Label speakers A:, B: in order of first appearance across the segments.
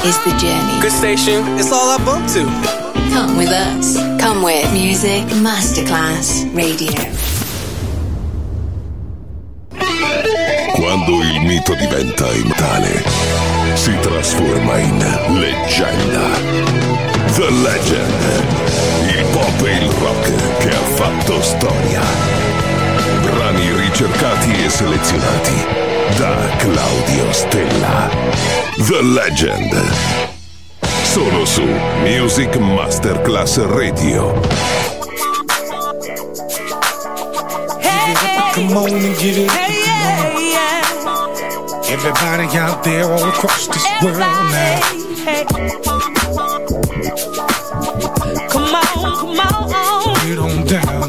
A: is the journey.
B: Good station, it's all I bump to.
A: Come with us. Come with Music Masterclass Radio.
C: Quando il mito diventa immortale, si trasforma in leggenda. The Legend. Il pop e il rock che ha fatto storia. Brani ricercati e selezionati da Claudio Stella. The Legend. Solo su Music Masterclass Radio.
D: Come on and get it. Everybody out there all across this world now. Come on, come on. Get on down.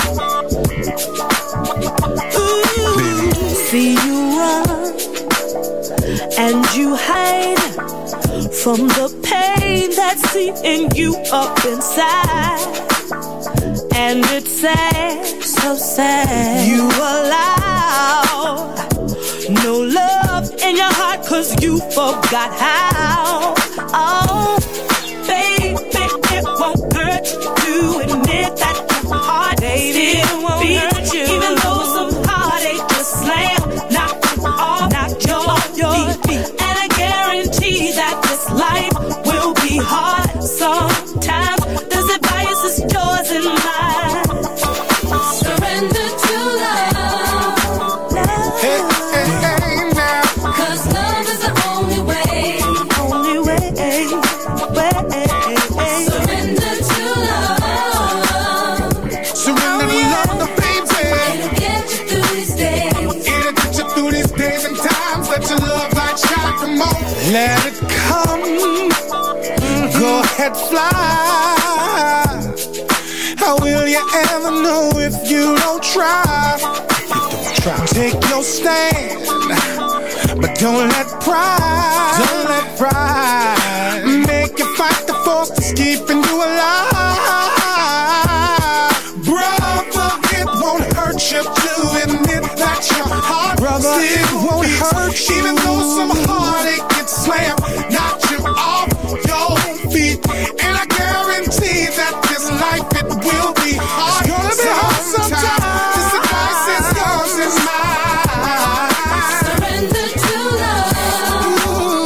E: Ooh, baby. See you run and you hide from the pain that's eating you up inside. And it's sad, so sad. You allow no love in your heart 'cause you forgot how. Oh, baby, it won't hurt to admit that your heart still won't hurt you. Even though some heartache just slam, knock you off your feet. And I guarantee that this life will be hard sometimes. This advice is yours and mine. Surrender to love.
D: Hey, hey, hey, now.
E: 'Cause love is the only way. Only way. Surrender to love.
D: Surrender to love, baby.
E: It'll get you through these days.
D: It'll get you through these days and times. Let your love light shine. Come on. Let it come. Go ahead, fly. How will you ever know if you don't try? Take your stand, but don't let pride make you fight the force that's keeping you alive. Brother, it won't hurt you to admit that your heart still won't hurt you. Even though some heartache gets slammed, knock you off your feet. And I guarantee that this life, it will be hard. It's gonna be hard sometimes. This advice is yours and mine.
E: Surrender to love.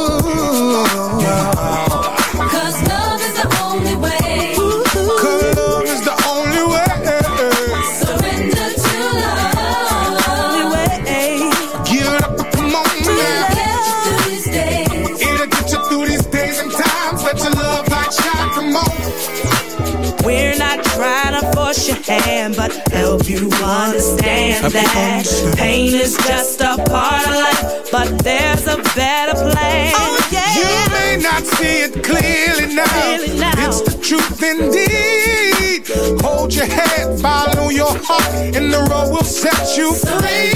D: Ooh.
E: 'Cause love is the only way.
D: 'Cause love is the only way.
E: Surrender to love. Only way.
D: Give it up, come on now.
E: Get you through these days.
D: It'll get you through these days and times. Let your love light shine, come on.
E: We're not trying to force your hand, but help you understand that pain is just a part of life, but there's a better plan. Oh, yeah.
D: You may not see it clearly now. It's the truth indeed. Hold your head, follow your heart, and the road will set you free.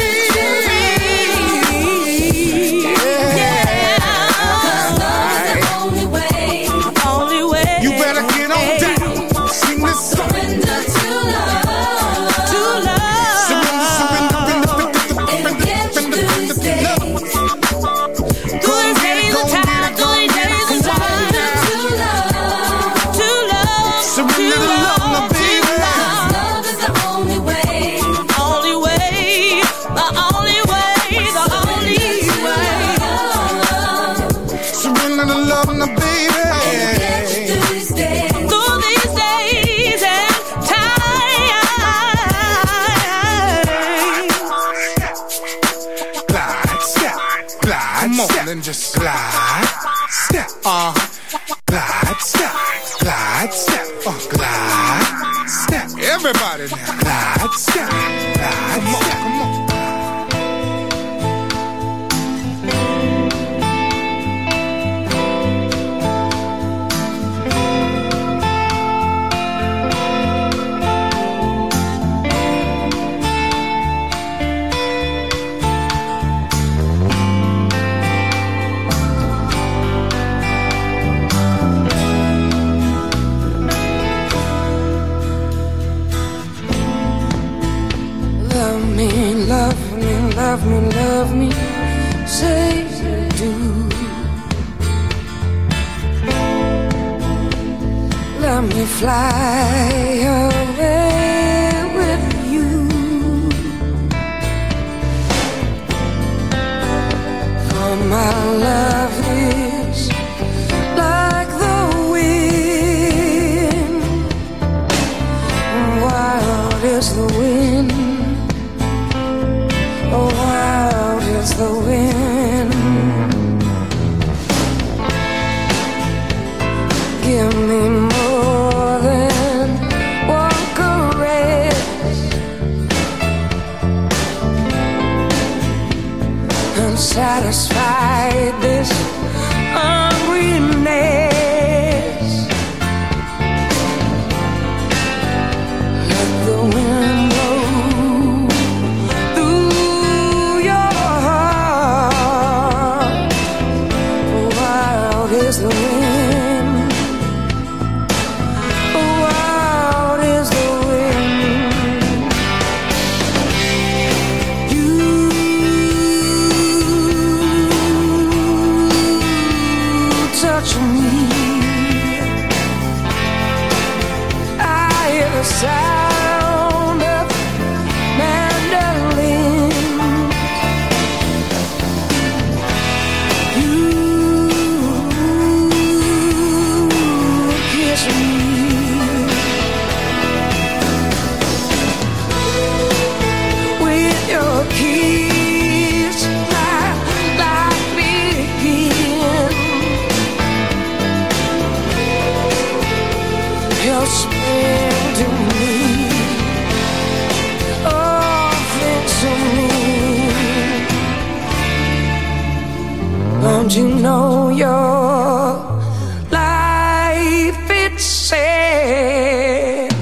D: You better get on down. Sing this song.
E: Surrender to love. To love.
D: Surrender.
E: It'll get you through these days. Through these days of time. Through these days of time. To love. To love.
D: Surrender to love, my baby.
E: 'Cause love is the only way. Only way. The only way. The only way.
D: Surrender to love, my baby.
E: Through these days and
D: Glide, step, glide, come on, and just glide, step, glide, step, glide, step, glide, step. Everybody now, glide, step, glide, come on, come on.
F: let me fly away with you. For my love is like the wind. Wild is the wind. Oh, wild is the wind. Give me more than one caress, and satisfy this hungriness. Let the wind blow through your heart. Wild is the wind. Sound of mandolin. You kiss me. With your kiss, like begin. Your spin to me. Don't you know your life it's sad,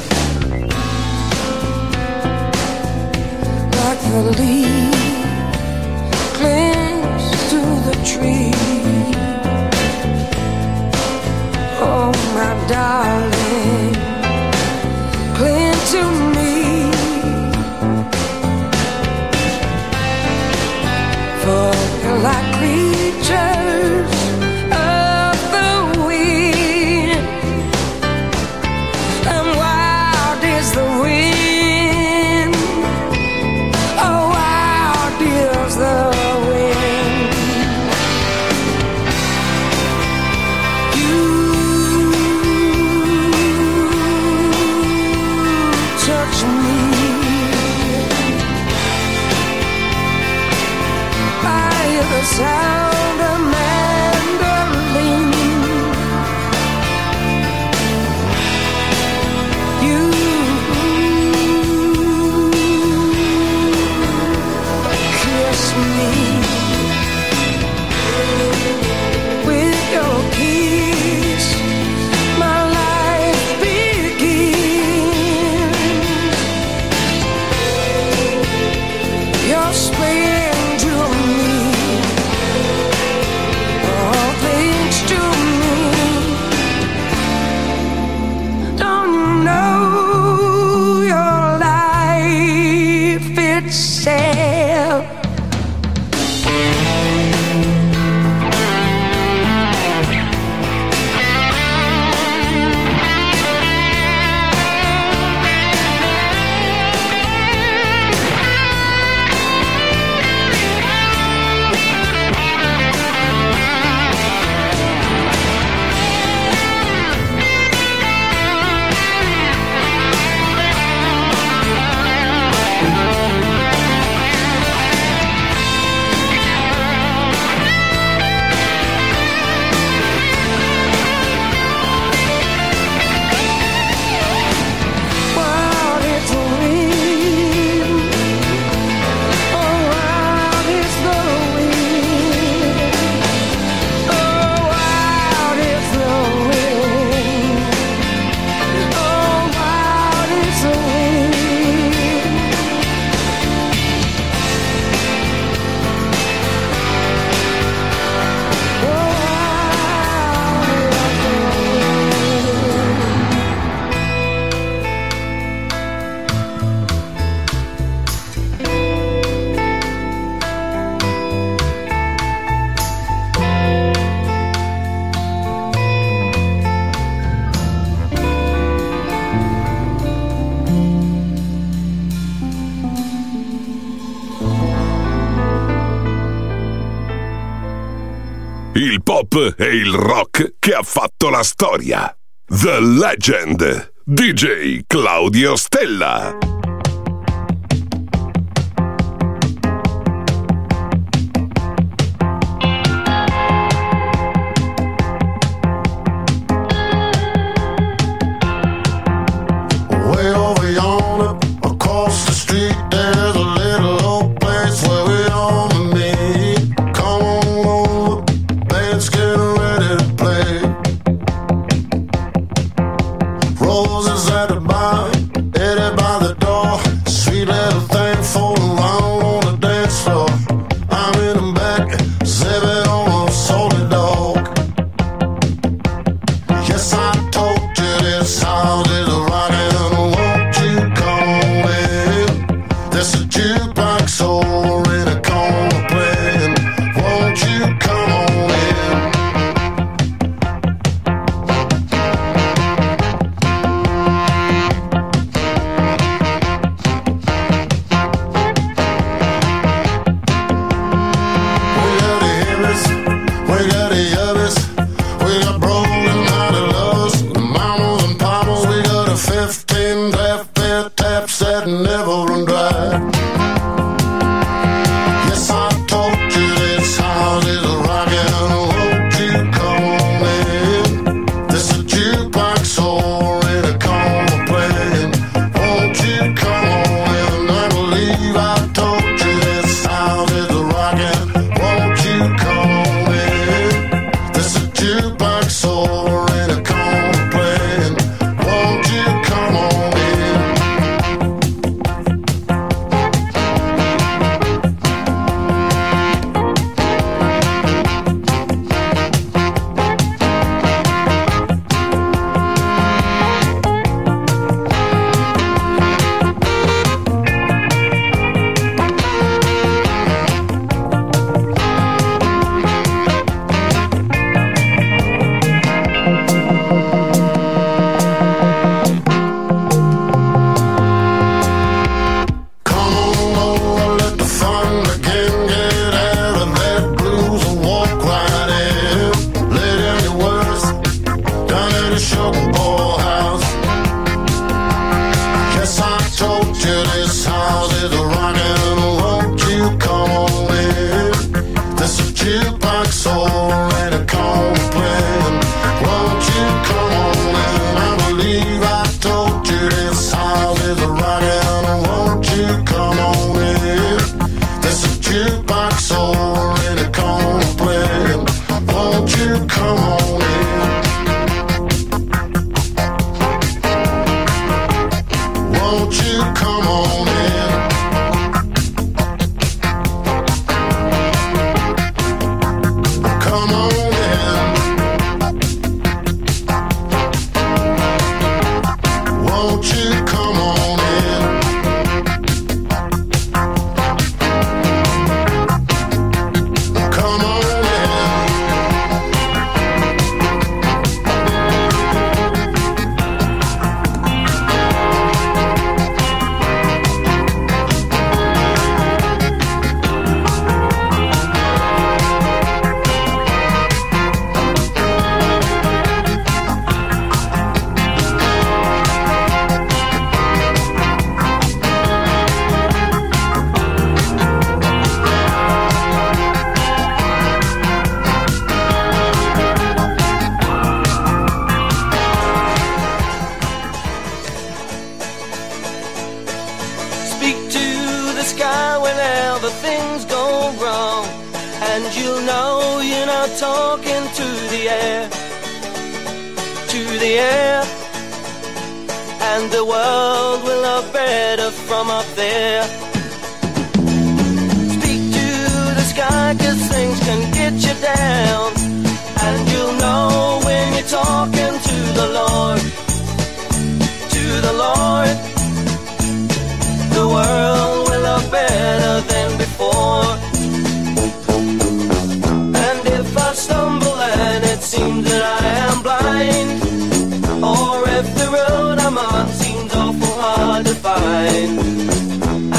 F: like the leaf clings to the tree. Oh, my darling, cling to me. For we're like creatures
C: pop e il rock che ha fatto la storia. The Legend, DJ Claudio Stella.
G: Roses at the bar, Eddie by the door. Sweet little thing floating around on the dance floor. I'm in the back, zipping on a solid dog. Yes, I told you this house is a rockin'. Won't you come in? There's a jukebox over in a corner playing. Won't you come on in? That never run dry. Yes, I told you this house is a rockin'. Won't you come on in? There's a jukebox over in a corner playing. Won't you come on in? I believe I told you this house is a rockin'. Won't you come on in? There's a jukebox over in a corner playing. Won't you come on in?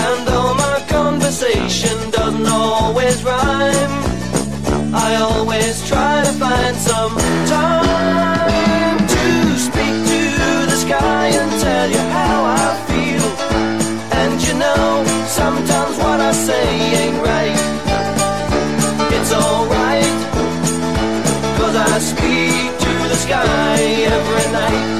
H: Doesn't always rhyme. I always always try to find some time to speak to the sky and tell you how I feel. And you know, sometimes what I say ain't right. It's alright, 'cause I speak to the sky every night.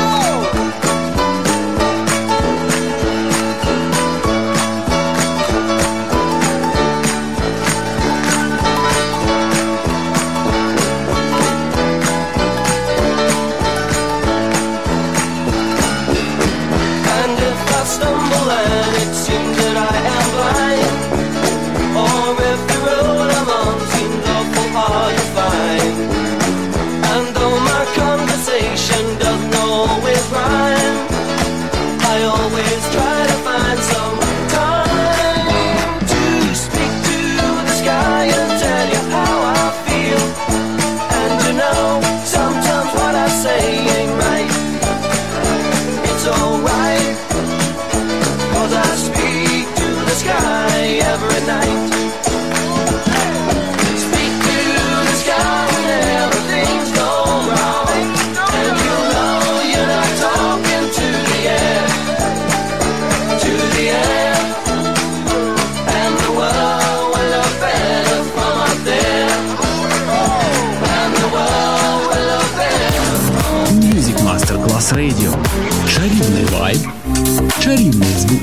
I: Radio. Чарівний вайб, чарівний звук.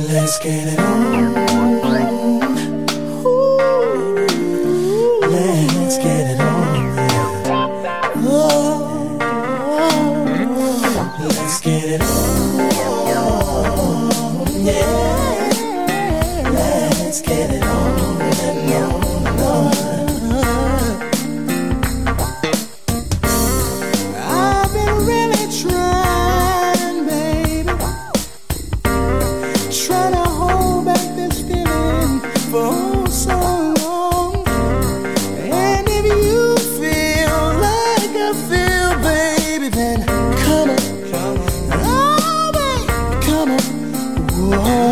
F: Let's get it on. Let's get it on. Oh, let's get it on. Yeah, let's get it on. I've been really trying, baby, trying to hold back this feeling for so long. And if you feel like I feel, baby, then come on, oh baby, come on. Whoa.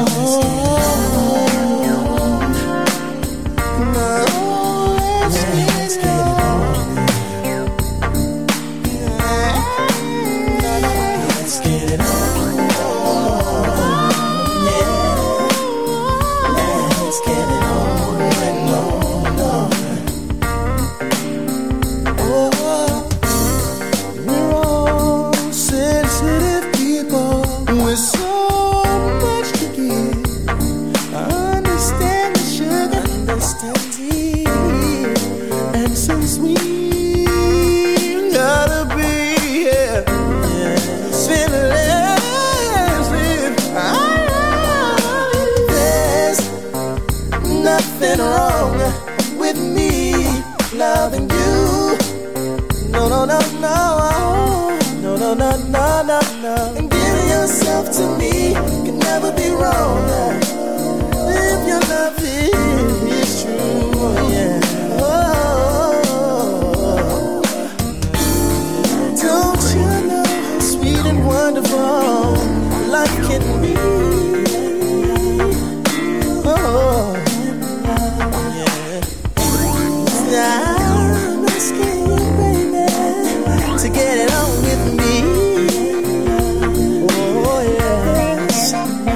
F: Let's get it on. Let's get it on. Let's get it on and on. Oh, we're all sensitive people with so much to give. I understand the sugar, understand tea, and so sweet gotta be, yeah. Feeling as if there's nothing wrong with me loving you. No, no, no, no, no, no, no, no, no, no. And giving yourself to me can never be wrong. If your love is true, yeah. Oh, don't you know how sweet and wonderful life can be? Oh, yeah. I'm asking you, baby, to get it on with me. Oh, yes.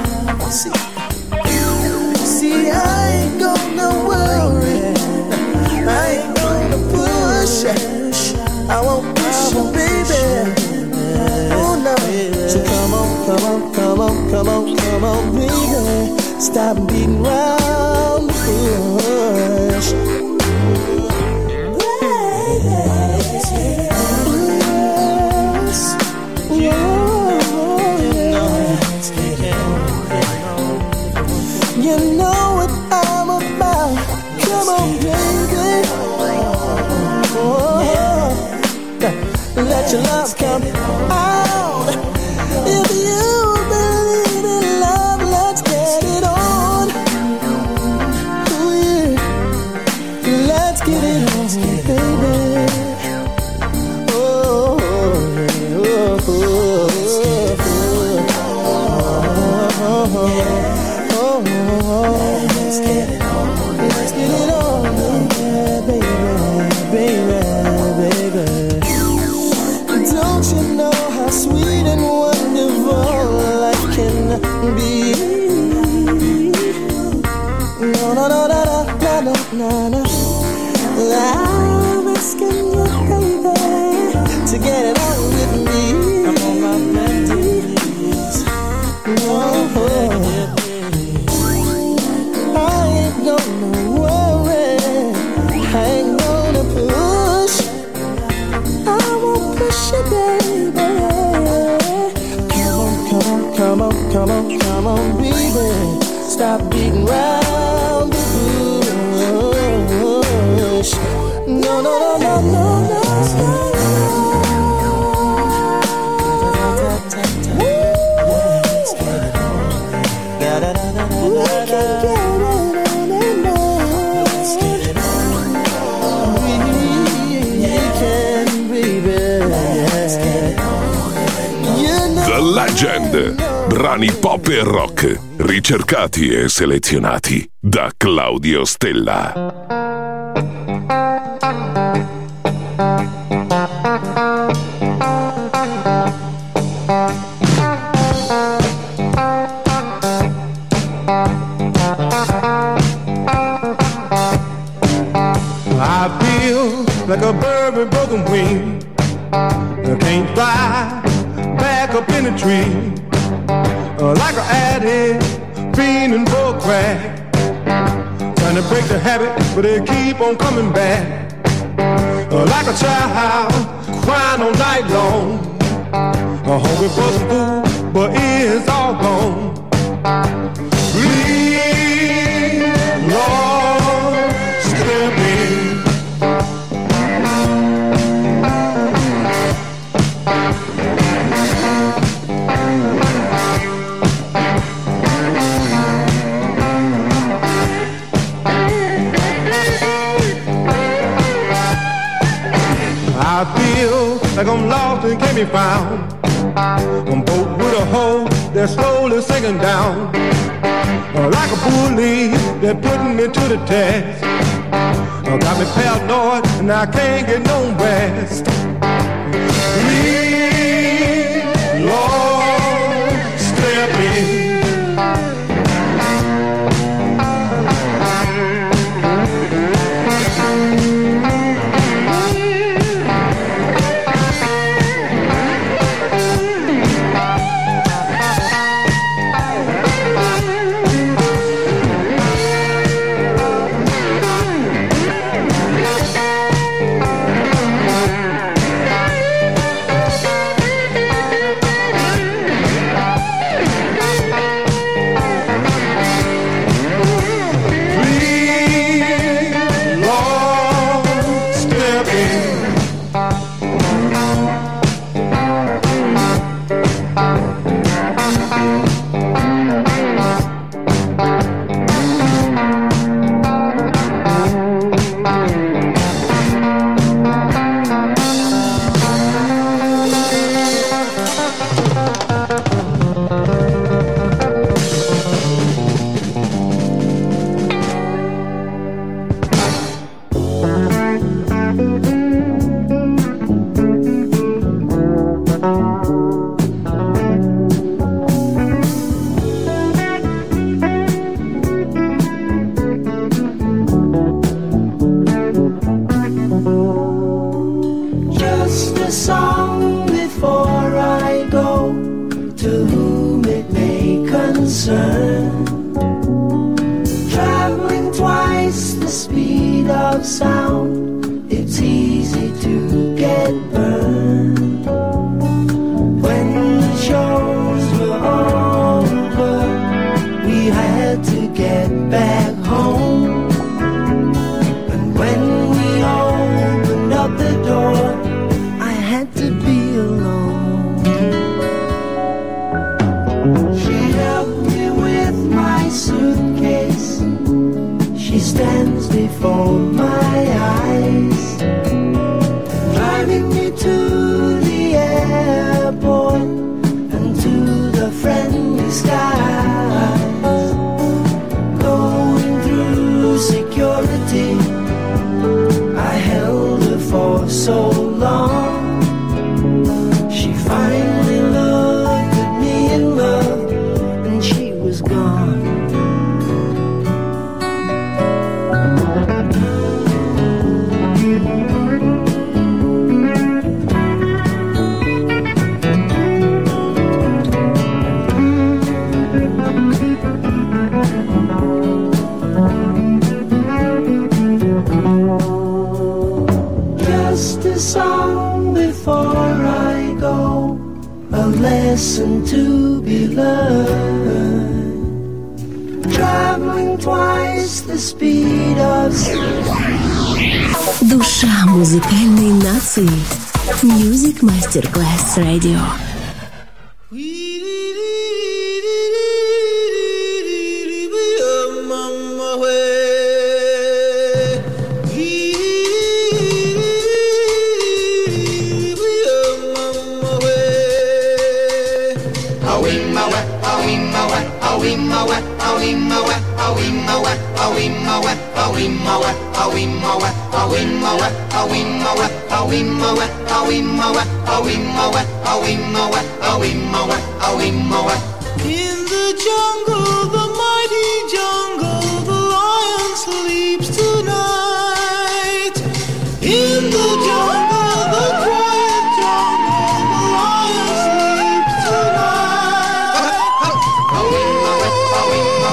F: See, I ain't gonna worry, I ain't gonna push. I won't push you, baby. Oh no. So come on, come on, come on, come on, come on, baby. Stop beating round the bush. You know what I'm about. Come on, baby. Oh, let your love come out. If you believe in love, let's get it on. Oh yeah, let's get it on, baby. Oh, oh, oh, oh, oh, let's get it on. Let's get it on, baby, baby, baby. Don't you know how sweet and wonderful life can be? No, no, no, no, no, no, no, no. I'm asking you, baby, to get it on with me. I'm on my knees. Oh, I ain't gonna worry, I ain't gonna push. I won't push you, baby. Come on, come on, come on, come on, baby. Stop beating round the bush. No, no, no, no, no, no. Let's get it on. We can get it on and on. Let's get it on. We can, baby. Let's get it on.
C: The Legend. Brani pop e rock, ricercati e selezionati da Claudio Stella.
J: I feel like a bird with broken wings. I can't fly back up in the tree. Like an addict fiending for crack, trying to break the habit, but they keep on coming back. Like a child crying all night long, hungry for some food, but it's all gone. Please, Lord, step in. I feel like I'm lost and can't be found. I'm boat with a hole that's slowly sinking down. Like a bully that putting me to the test. Got me paranoid and I can't get no rest. Please, Lord, step in.
K: Душа музыкальной нации. Music Masterclass Radio.
D: In the jungle, the mighty jungle, the lion sleeps tonight. In the jungle, the quiet jungle, the lion sleeps tonight.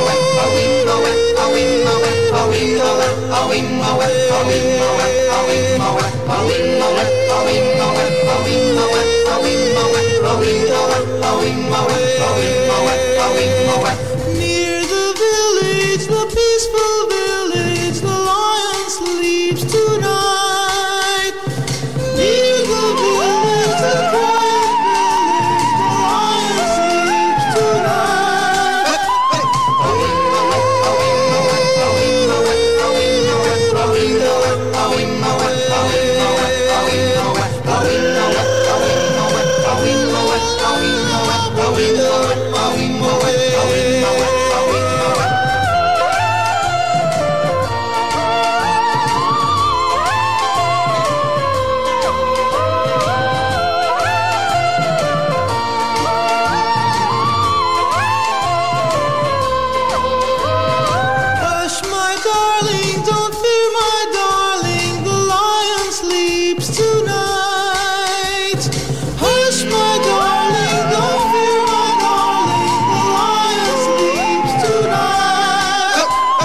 L: Near the village, the peaceful village, the lion sleeps tonight. Near the village, the quiet village, the lion sleeps tonight. Hush, my darling, don't fear, my darling, the lion sleeps tonight. Hush, my darling, don't fear, my darling, the lion sleeps tonight.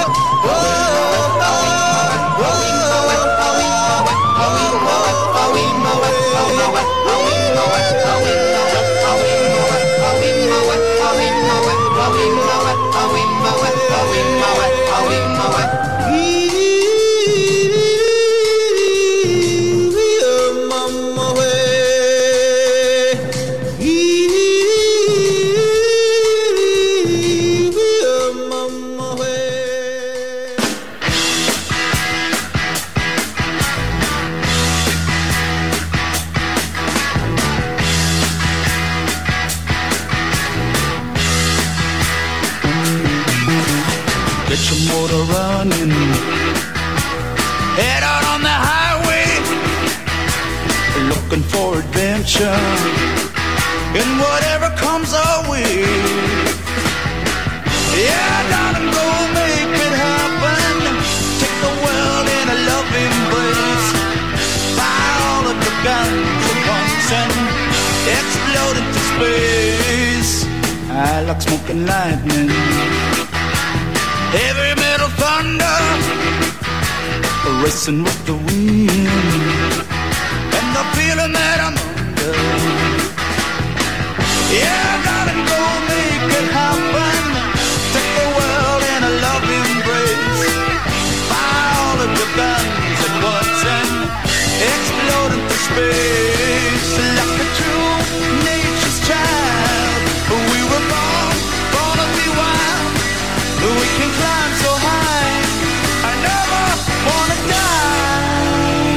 H: Get your motor running. Head out on the highway, looking for adventure in whatever comes our way. Yeah, darling, go make it happen. Take the world in a loving embrace. Fire all of the guns at once and explode into space. I like smoking lightning, heavy metal thunder, racing with the wind, and the feeling that I'm under. Yeah, darling, go make it happen. Take the world in a loving embrace. Fire all of your guns at once and explode into space. Like a true nature's child, we were born to be wild. We can climb so high, I never wanna die.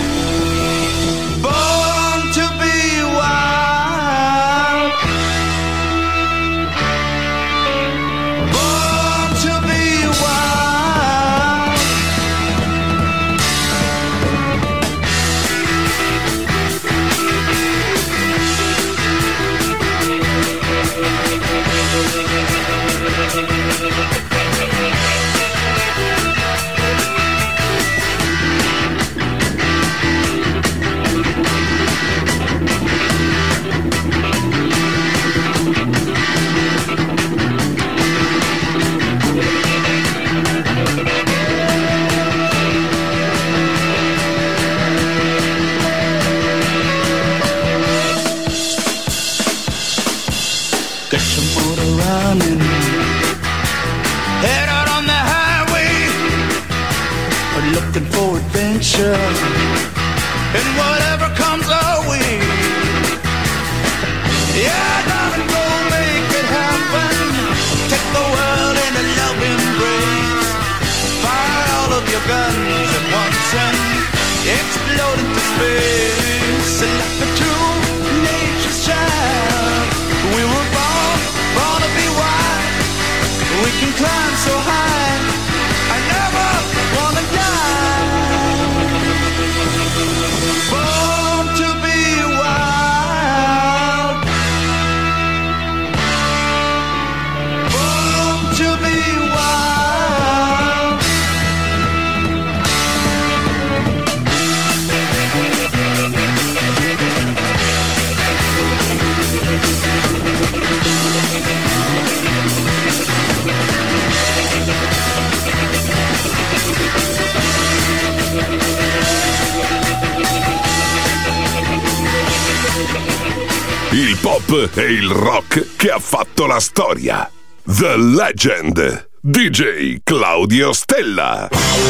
H: Born to be wild. Born to be wild. Get your motor running. Head out on the highway, looking for adventure and whatever comes our way. Yeah, darling, go make it happen. Take the world in a loving embrace. Fire all of your guns at once and explode into space. Like a true nature's child, we were born to be wild. We can climb so high, I never wanna die. Born to be wild. Born to be wild.
C: il pop e il rock che ha fatto la storia. The Legend, DJ Claudio Stella.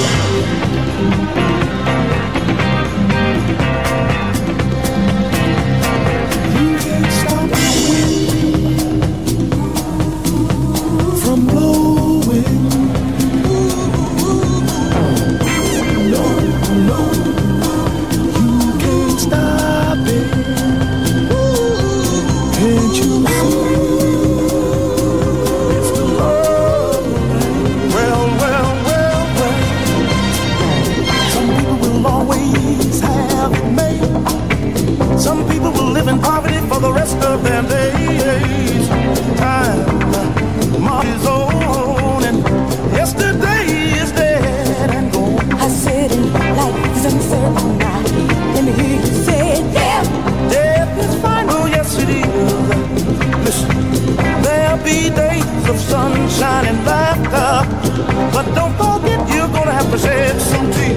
F: Some people will live in poverty for the rest of their days. Time is on and yesterday is dead and gone.
E: I said in life is uncertain now. Let me hear you say it.
F: Death is final, yes it is. Listen, there'll be days of sunshine and laughter, but don't forget you're gonna have to shed some tears.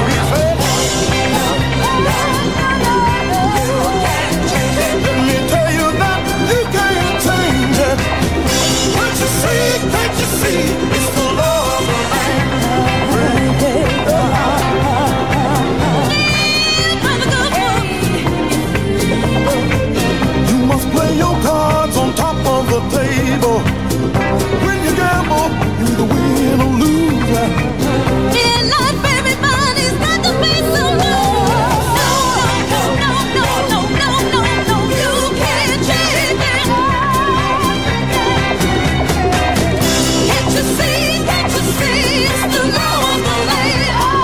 F: Can't you see, it's the law of the land. You must play your cards on top of the table. When you gamble, you either win or lose.
E: In life, everybody's got to be some no, you can't change it. Can't you see, it's the law of the land.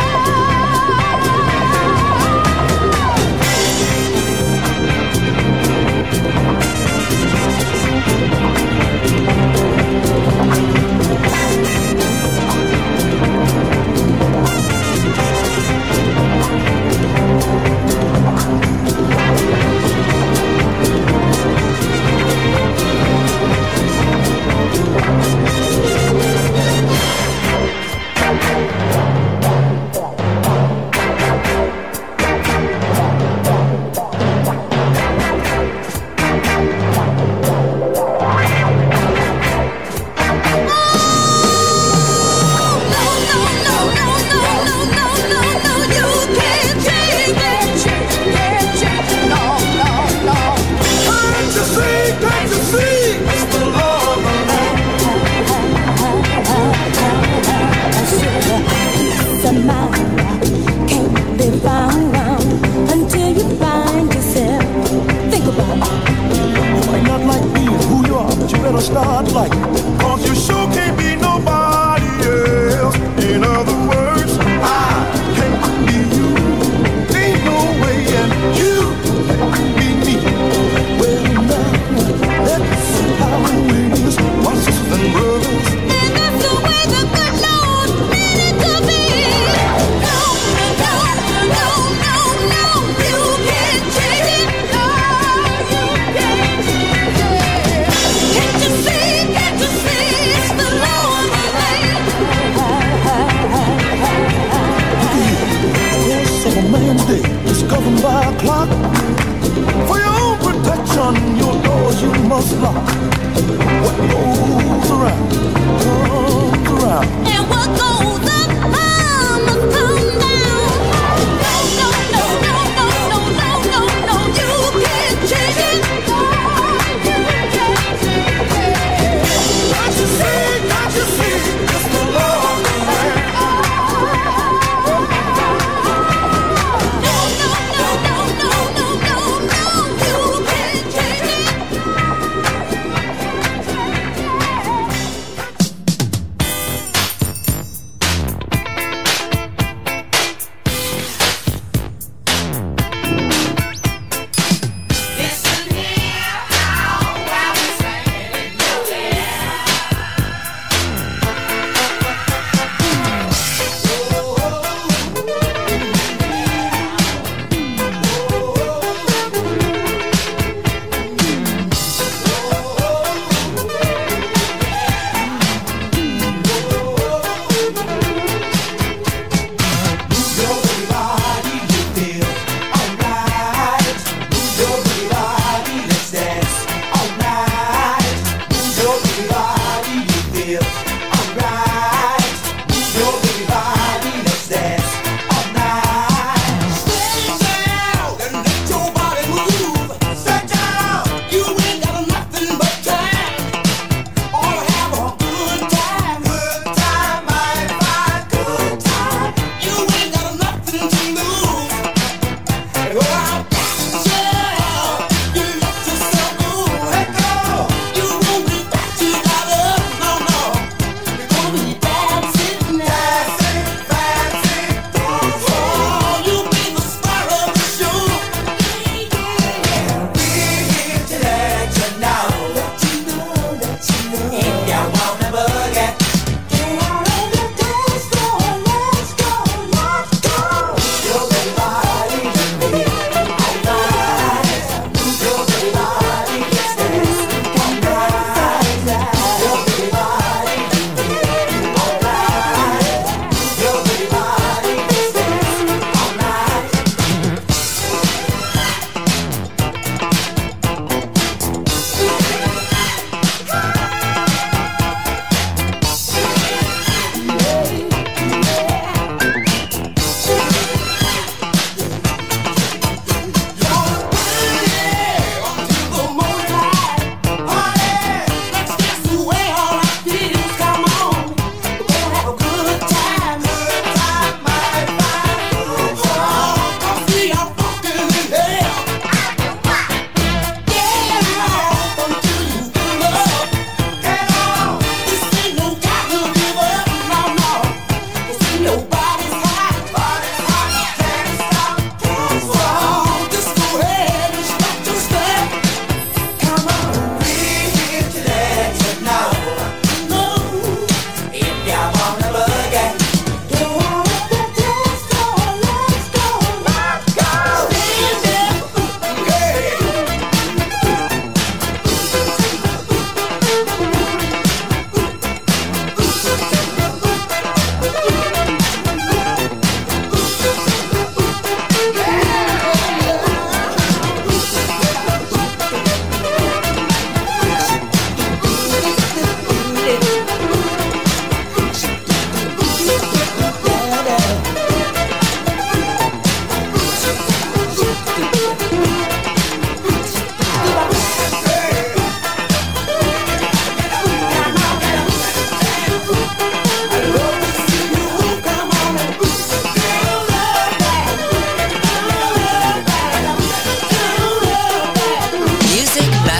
F: Start like, cause you sure can't be nobody else. In other words, I can't be you. Ain't no way, and you can't be me. Well, now, let's see how it is, my sisters and brothers.
E: And that's the way the good Lord meant it to be. No, you can't change it. No, you can't change it. Can't you see, it's the law of the land.
F: Yes, of a man's day is governed by a clock. For your own protection, your doors you must lock. What goes around, comes around.
E: And what goes up, must come down. No, you can't change it.
F: Can't you see, it's the law of the land.
E: No, you can't change it.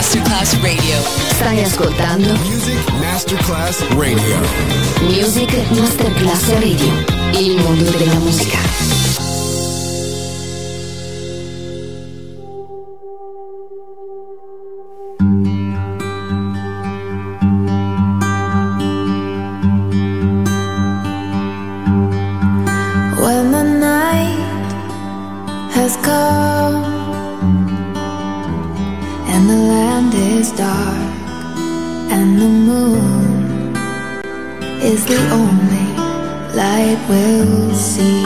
A: Masterclass Radio.
K: Stai ascoltando
M: Music Masterclass Radio.
K: Music Masterclass Radio. Il mondo della musica.
N: When the night has come and the land is dark and the moon is the only light we'll see.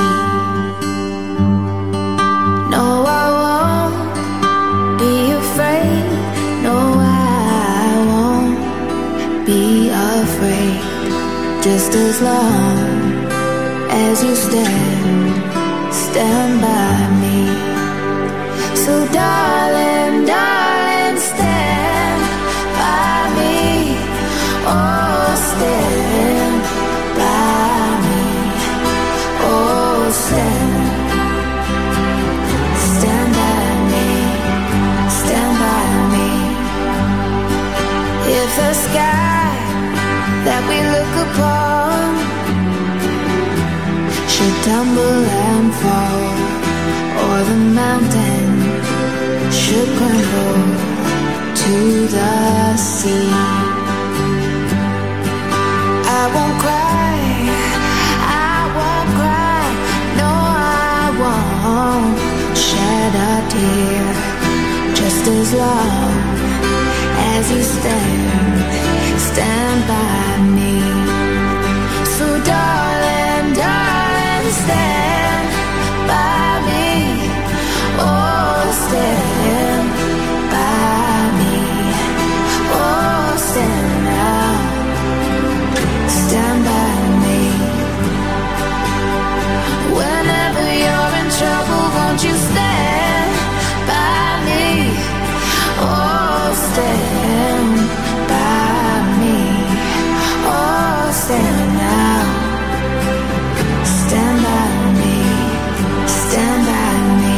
N: No, I won't be afraid. No, I won't be afraid. Just as long as you stand by me. So darling, darling, stand by me. Oh, stand by me. Oh, stand by me. Stand by me. If the sky that we look upon should tumble and fall, or the mountain should crumble to the sea, I won't cry, no, I won't shed a tear, just as long as you stand by me. So darling, darling, stand by me. Oh, stand by me. Oh, stand now. Stand by me. Whenever you're in trouble, won't you stand by me? Oh, stand by me. Oh, stand now. Stand by me. Stand by me.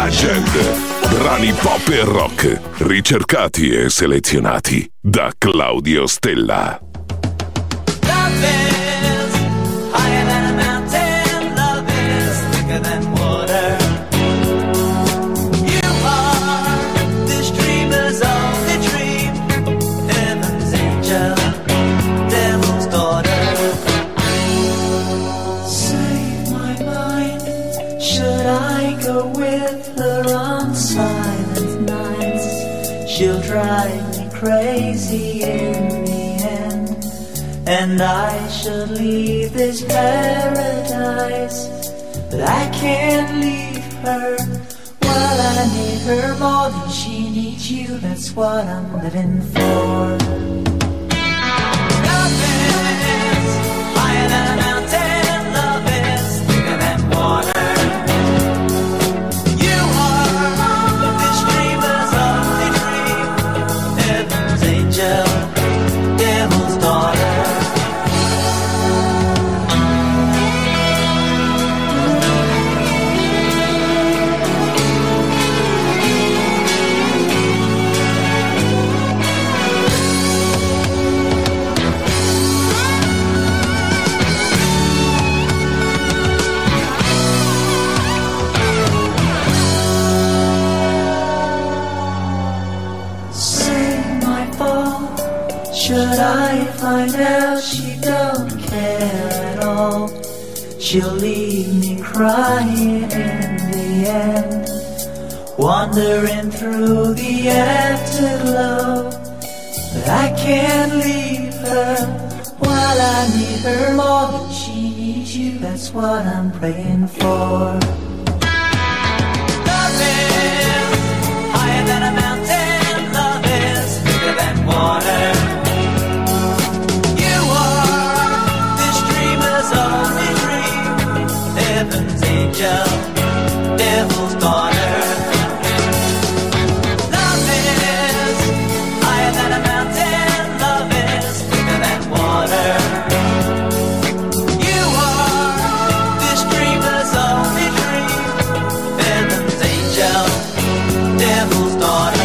C: Legend. Brani pop e rock, ricercati e selezionati da Claudio Stella.
H: Love is higher than a mountain. Love is thicker than water. You are this dreamer's only dream. Heaven's angel, devil's daughter. Save my mind. Should I go with her on silent nights? She'll drive me crazy in the end, and I should leave this paradise. But I can't leave her. While I need her more than she needs you, that's what I'm living for. Love is higher than a mountain. Love is thicker than water. You are this dreamer's only dream. Heaven's angel, devil's daughter. Should I find out she don't care at all, she'll leave me crying in the end, wandering through the afterglow. But I can't leave her while I need her more than she needs you. That's what I'm praying for. Love is higher than a mountain. Love is thicker than water. Only dream, heaven's angel, devil's daughter. Love is higher than a mountain. Love is thicker than water. You are this dreamer's only dream, heaven's angel, devil's daughter.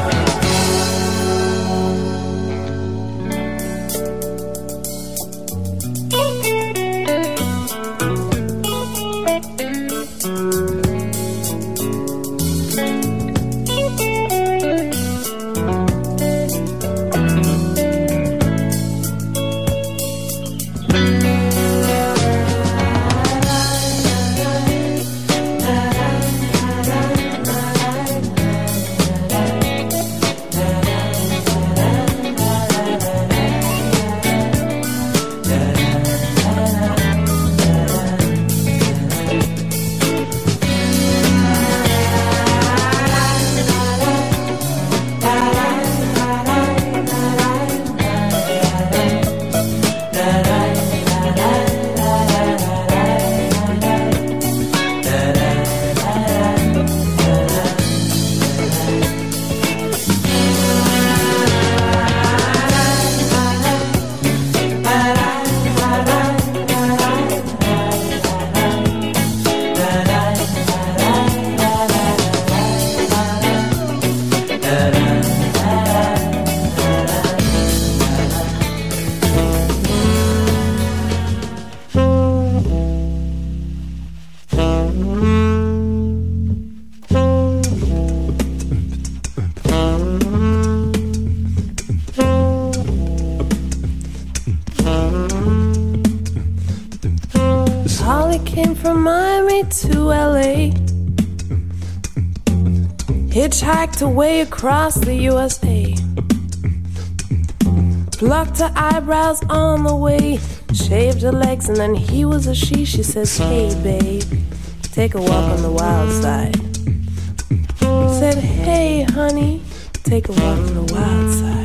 O: Hitchhiked away across the USA, plucked her eyebrows on the way, shaved her legs, and then he was a she. She says, hey babe, take a walk on the wild side. Said, hey honey, take a walk on the wild side.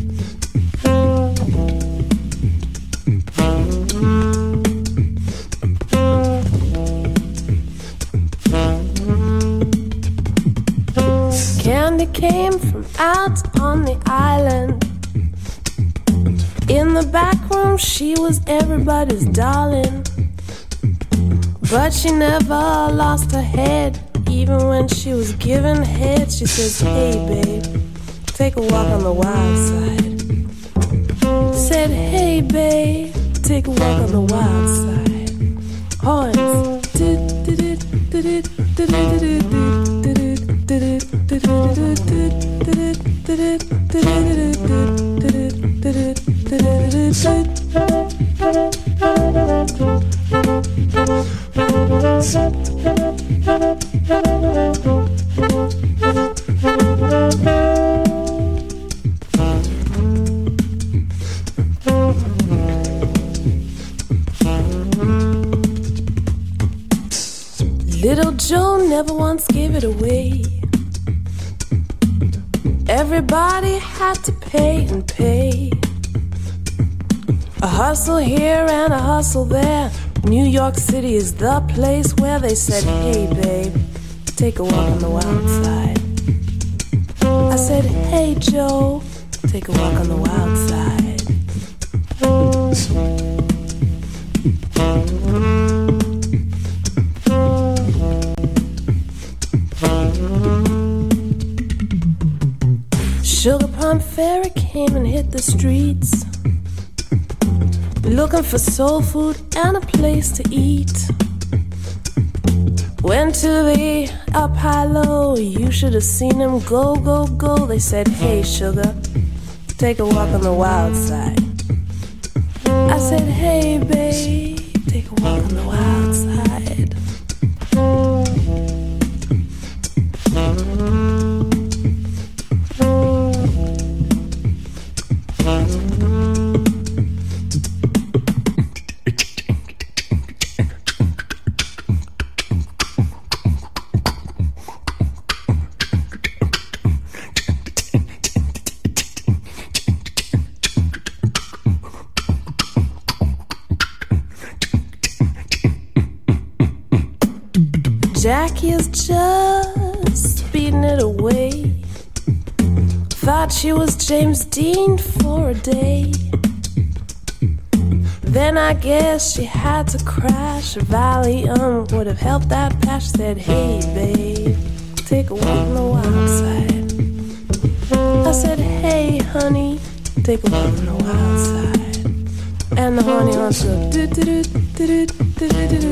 O: Candy came from out on the island. In the back room she was everybody's darling, but she never lost her head, even when she was giving head, she says, hey babe, take a walk on the wild side. Said, hey babe, take a walk on the wild side. Horns. Little Joe never once gave it away. Everybody had to pay and pay. A hustle here and a hustle there. New York City is the place where they said, hey babe, take a walk on the wild side. I said, hey Joe, take a walk on the wild side. Sugar Plum Fairy came and hit the streets, looking for soul food and a place to eat. Went to the up high low, you should have seen them go, go, go. They said, hey sugar, take a walk on the wild side. I said, hey babe, take a walk on the wild side. Jackie is just beating it away. Thought she was James Dean for a day. Then I guess she had to crash. Valium would have helped that patch. Said, hey babe, take a walk on the wild side. I said, hey honey, take a walk on the wild side. And the honey wants to do do do do do do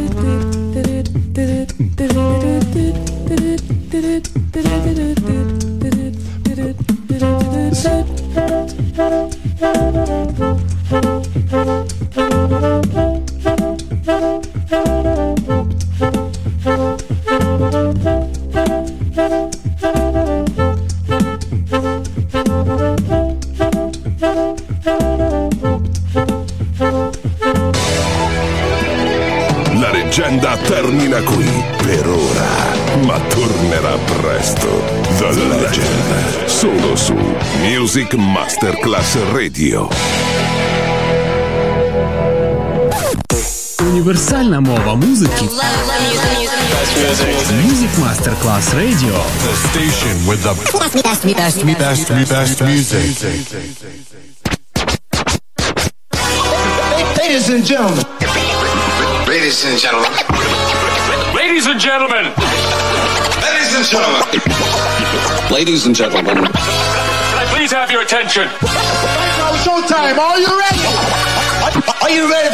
C: La leggenda termina qui per ora, ma tornerà presto. The Legend, solo su Music Masterclass Radio.
I: Універсальна мова музики. Music Masterclass Radio.
M: The station with the best music.
P: Ladies and gentlemen.
Q: Ladies and gentlemen.
R: Ladies and gentlemen.
Q: Ladies and gentlemen.
R: Ladies and gentlemen. Can I please have your attention?
P: Showtime. Are you ready? Are you ready